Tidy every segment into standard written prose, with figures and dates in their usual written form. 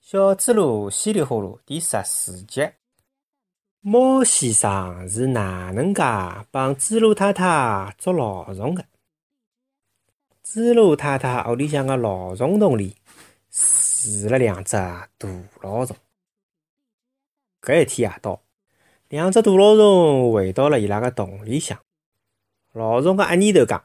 小猪猡稀里呼噜第14集。猫先生是哪能介帮猪猡太太捉老虫的？猪猡太太屋里向的老虫洞里住了两只大老虫。搿一天夜到，两只大老虫回到了伊拉个洞里向。老虫个阿年头讲：“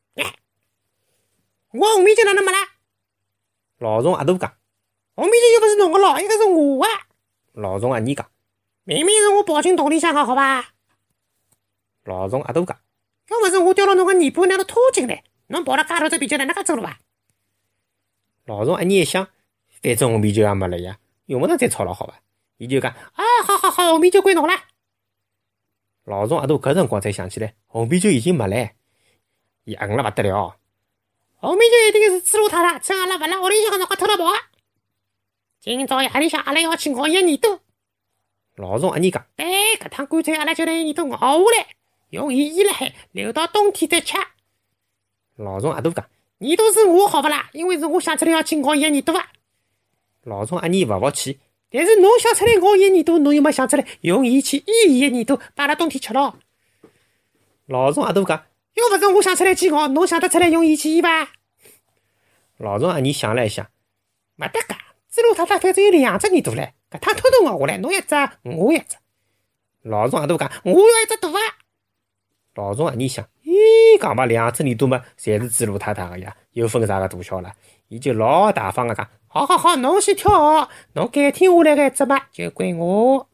我红面筋哪能没啦？” 老虫阿大讲：“ 红面筋又不是侬个咯，一个是我的。” 老虫阿二讲：“ 明明是我跑进洞里向个，好吧？” 老虫阿大讲：“ 要不是我掉了侬个尾巴，拿侬拖进来，侬跑了介头只啤酒哪能介走了吧？” 老虫阿二一想，反正红啤酒也没了呀，用不着再吵了，好吧？伊就讲：“ 好，红啤酒归侬了。” 老虫阿大搿辰光才想起来，红啤酒已经没了，伊恨了勿得了。 红啤酒一定是猪猡太太趁阿拉勿辣屋里向个辰光偷了跑个。今朝夜里向阿拉要去咬伊个耳朵。 老虫阿二讲：“ 搿趟干脆阿拉就拿伊耳朵咬下来，用伊腌辣海，留到冬天再吃。” 老虫阿大讲：“ 耳朵是我好勿啦？因为是我想出来要去咬伊个耳朵个。” 老虫阿二勿服气：“ 但是侬想出来咬伊个耳朵，侬又没想出来用伊去腌伊个耳朵，把阿拉冬天吃咯。” 老虫阿大讲：“ 要勿是我想出来去咬，侬想得出来用伊去腌伐？” 老虫阿二想了一想：“ 没得噶，猪猡太太反正有两只耳朵唻，搿趟偷偷咬下来，侬一只，我一只。” 老虫阿大讲：“ 我要一只大个。” 老虫阿二想：“咦，讲吧，两只耳朵嘛，侪是猪猡太太个呀，有分啥个大小啦？”伊就老大方个讲：“ 好，侬先挑好，侬改天下来个一只嘛，就归我。”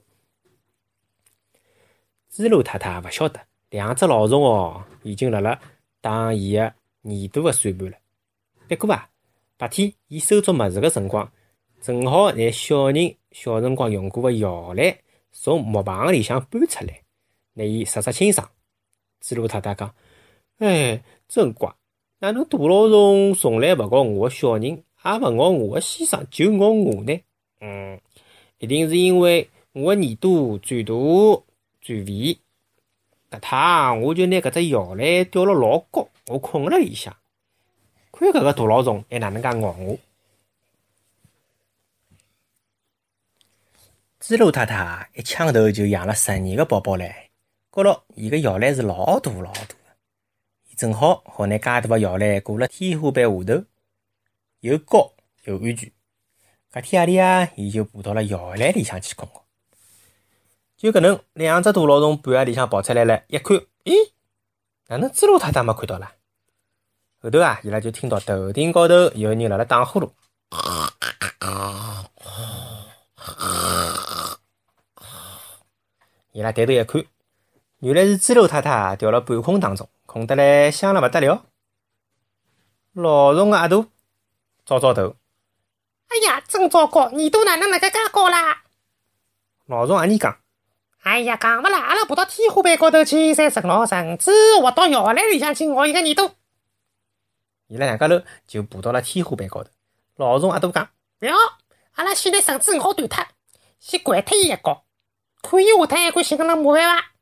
猪猡太太勿晓得，两只老虫已经辣辣打伊个耳朵个算盘了。不过白天伊收拾物事个辰光，正好拿小人小辰光用过个摇篮从木棚里向搬出来，拿伊刷清爽。猪猡太太讲：“真怪，哪能大老虫从来勿咬我个小人，也勿咬我个先生，就咬我呢？一定是因为我个耳朵最大最肥。搿趟我就拿搿只摇篮吊了老高，我困辣里向，看搿个大老虫还哪能介咬我。”猪猡太太一枪头就养了10年个宝宝唻，觉着伊个摇篮是老大个，伊正好拿介大个摇篮挂辣天花板下头，又高又安全。搿天夜里伊就爬到了摇篮里向去困觉。就搿能，两只大老虫半夜里向跑出来了，一看，咦，哪能猪猡太太没看到啦？后头伊拉就听到头顶高头有人辣辣打呼噜。伊拉抬头一看，原来是猪猡太太掉了半空当中，困得来香了勿得了。老虫个阿大找头， 哎呀，真糟糕，耳朵哪能辣盖介高啦？ 老虫阿二讲：“ 哎呀，讲勿啦，阿拉爬到天花板高头去，再顺牢绳子滑到摇篮里向去咬伊个耳朵。” 伊拉两家头就爬到了天花板高头。老虫阿大讲：“ 不要，阿拉先拿绳子咬断脱，先掼脱伊一跤，看伊下趟还敢寻搿能麻烦伐？”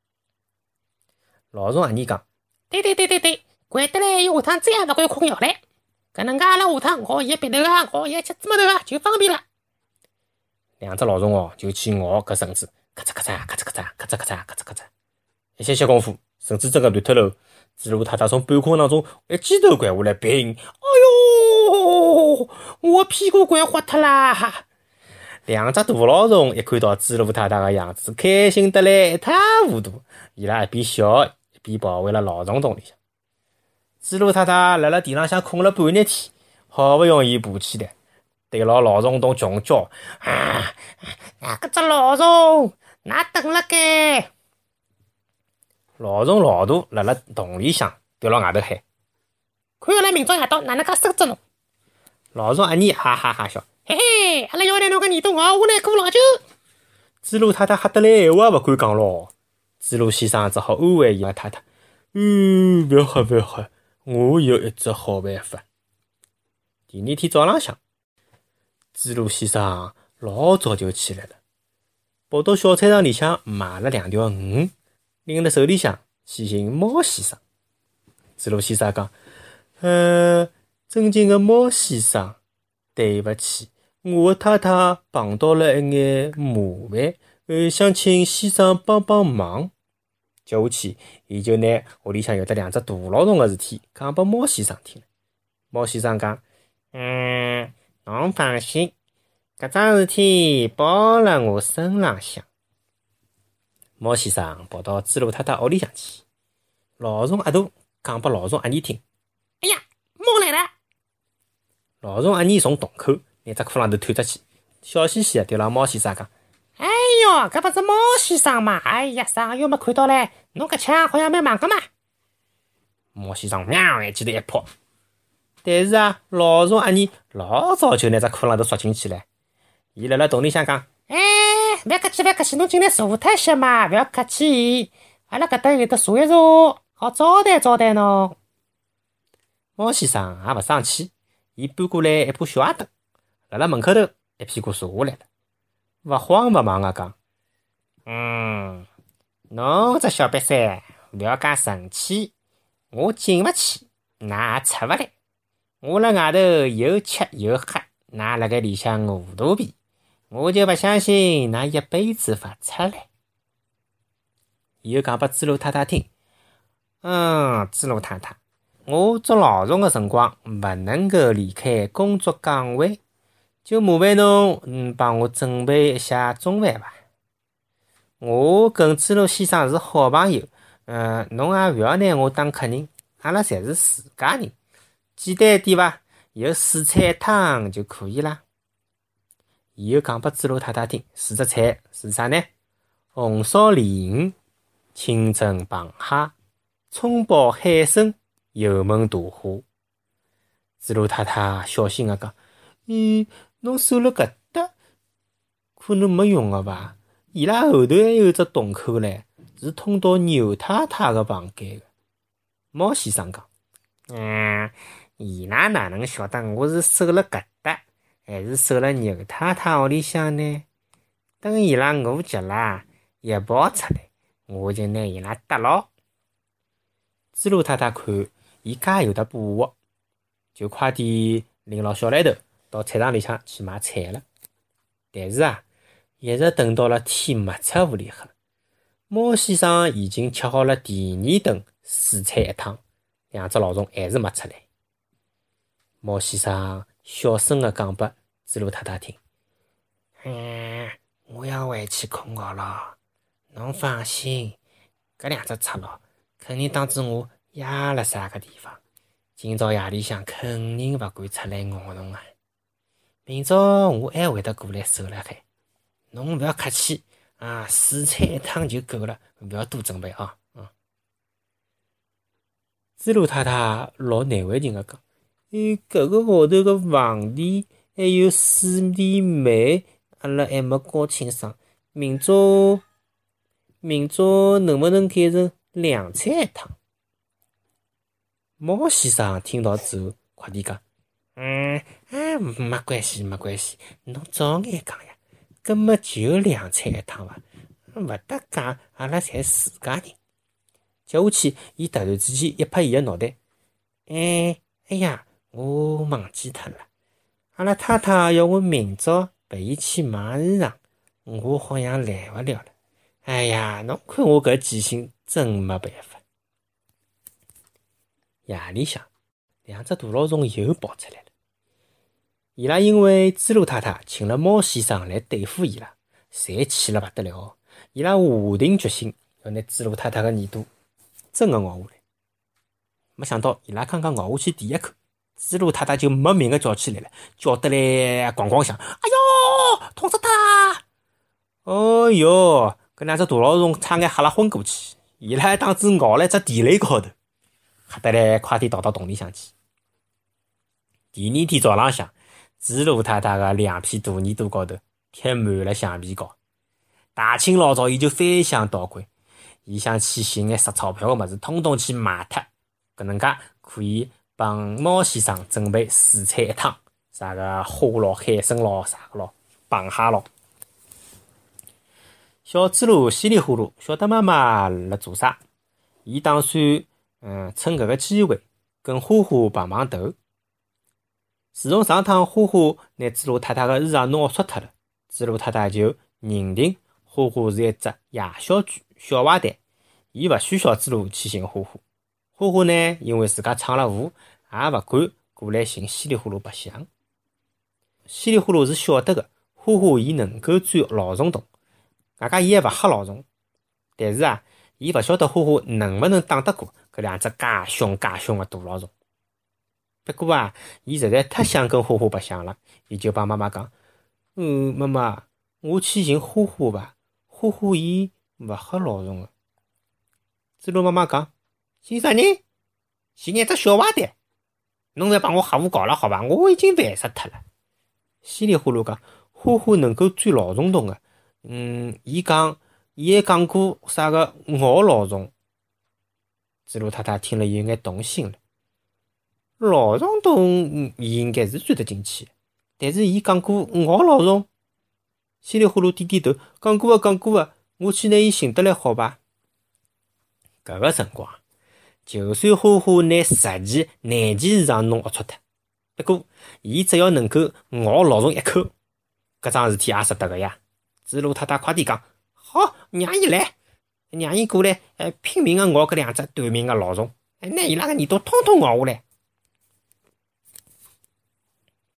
老虫阿二讲：“ 对，掼得来伊下趟再也勿敢困摇篮，搿能介阿拉下趟咬伊个鼻头咬伊个脚趾头就方便了。” 两只老虫就去咬搿绳子，咔嚓咔嚓，咔嚓咔嚓，一歇功夫，绳子真个断脱喽。猪猡太太从半空当中一记头掼下来，砰！ 哎哟，我屁股掼花脱啦！ 两只大老虫一看到猪猡太太个样子，开心得来一塌糊涂。伊拉一边笑一边跑回了老虫洞里向。猪猡太太辣辣地浪向困了半日天，好勿容易爬起来，对牢老虫洞穷叫：“ 搿只老虫，㑚等辣盖！” 老虫老大辣辣洞里向调牢外头喊：“ 看阿拉明朝夜到哪能介收拾侬！” 老虫阿二哈哈哈笑：“ 嘿，阿拉要拿侬个耳朵咬下来过老久。” 猪猡太太吓得来闲话也勿敢讲咯。猪猡先生只好安慰伊拉太太：“勿要吓，我有一只好办法。”第二天早浪向，猪猡先生老早就起来了，跑到小菜场里向买了2条鱼，拎辣手里向去寻猫先生。猪猡先生讲：“尊敬的猫先生，对勿起， 我的太太碰到了一眼麻烦，想请先生帮帮忙。接下去，伊就拿屋里向有得2只大老鼠个事体讲拨猫先生听了。猫先生讲：“侬放心，搿桩事体包辣我身浪向。”猫先生跑到猪猡太太屋里向去，老虫阿大讲拨老虫阿姨听：“ 哎呀，猫来了！” 老虫阿姨从洞口拿只裤浪头探出去，笑嘻嘻地对牢猫先生讲：“ 哎哟，搿勿是猫先生嘛？哎呀，上月没看到唻，侬搿腔好像蛮忙个嘛。” 猫先生喵一记头一扑，但是老虫阿姨老早就拿只裤浪头缩进去了。伊辣辣洞里向讲：“ 哎，勿要客气，勿要客气，侬进来坐脱些嘛，勿要客气。阿拉搿搭有得坐一坐，好招待招待侬。” 猫先生也勿生气，伊搬过来一把小矮凳，辣辣门口头一屁股坐下来了，勿慌勿忙讲：“侬只小瘪三，勿要介生气，我进勿去，㑚也出勿来。我辣外头又吃又喝，㑚辣盖里向饿肚皮，我就勿相信㑚一辈子勿出来。”伊又讲拨猪猡太太听：“猪猡太太，我捉老虫个辰光勿能够离开工作岗位，就麻烦侬帮我准备一下中饭伐？我跟猪猡先生是好朋友，侬也勿要拿我当客人，阿拉侪是自家人，简单一点伐？有四菜一汤就可以啦。”伊又讲拨猪猡太太听，4只菜是啥呢？红烧鲢鱼、清蒸螃蟹、葱爆海参、油焖大虾。猪猡太太小心个讲：“侬守了搿搭，可能没用个伐？伊拉后头还有只洞口唻，是通到牛太太个房间个。”猫先生讲：“伊拉哪能晓得我是守了搿搭，还是守了牛太太屋里向呢？等伊拉饿极了，一跑出来，我就拿伊拉逮牢。”猪猡太太看伊介有得把握，就快点领牢小来头到菜场里向去买菜了。但是一直等到了天没出屋里黑，猫先生已经吃好了第2顿四菜一汤，2只老虫还是没出来。猫先生小声地讲拨猪猡太太听：“我要回去困觉了，侬放心，搿2只贼佬肯定当住我压辣啥个地方，今朝夜里向肯定勿敢出来咬侬啊！明朝我还会得过来收了海，侬勿要客气四菜一汤就够了，勿要多准备啊！”猪猡太太老难为情个讲：“搿个号头个房钿还有水电煤，阿拉还没交清爽。明朝能不能改成2菜一汤？”猫先生听到之后，快点讲：“没关系，没关系，侬早眼讲呀，搿么就2菜一汤伐？勿得讲，阿拉侪自家人。”接下去，伊突然之间一拍伊个脑袋：“哎呀，我忘记脱了，阿拉太太要我明朝陪伊去买衣裳，我好像来勿了了。哎呀，侬看我搿记性真没办法。”夜里向，2只大老虫又跑出来了。伊拉因为猪猡太太请了猫先生来对付伊拉，侪气了勿得了。伊拉下定决心要拿猪猡太太个耳朵真个咬下来。没想到伊拉刚刚咬下去第一口，猪猡太太就没命个叫起来了，叫得来咣咣响。“哎哟，痛死他！”哦哟，搿2只大老虫差眼吓了昏过去，伊拉还当真咬了一只地雷高头，吓得来快点逃到洞里向去。第2天早浪向，猪猡太太个2片大耳朵高头贴满了橡皮膏。大清老早伊就翻箱倒柜，伊想去寻眼值钞票个物事，通通去卖脱，搿能介可以帮猫先生准备4菜一汤，啥个虾咯、海参咯、啥个咯、螃蟹咯。小猪猡稀里呼噜晓得妈妈辣做啥，伊打算趁搿个机会跟花花碰碰头。 自从上趟花花拿猪猡太太个衣裳弄龌脱了，猪猡太太就认定花花是一只野小猪、小坏蛋，伊勿需小猪猡去寻花花。花花呢，因为自家闯了祸，也勿敢过来寻稀里呼噜白相。稀里呼噜是晓得个，花花伊能够钻老虫洞，外加伊还勿吓老虫。但是伊勿晓得花花能勿能打得过搿两只介凶介凶个大老虫。不过伊实在太想跟花花白相了，伊就帮妈妈讲：“妈妈，我去寻花花伐？花花伊勿吓老虫个。”猪猡妈妈讲：“寻啥人？寻一只小坏蛋。侬勿帮我吓唬搞了好伐？我已经烦死脱了。”稀里呼噜讲，花花能够钻老虫洞个。伊还讲过啥个咬老虫。猪猡太太听了有眼动心了。老虫洞伊应该是钻得进去，但是伊讲过咬老虫。稀里呼噜点点头，讲过个，我去拿伊寻得来好伐？搿个辰光，就算花花拿10件难件衣裳弄龌龊脱，不过伊只要能够咬老虫一口，搿桩事体也值得个呀。猪猡太太快点讲，好，让伊来，让伊过来，拼命个咬搿两只短命个老虫，拿伊拉个耳朵统统咬下来。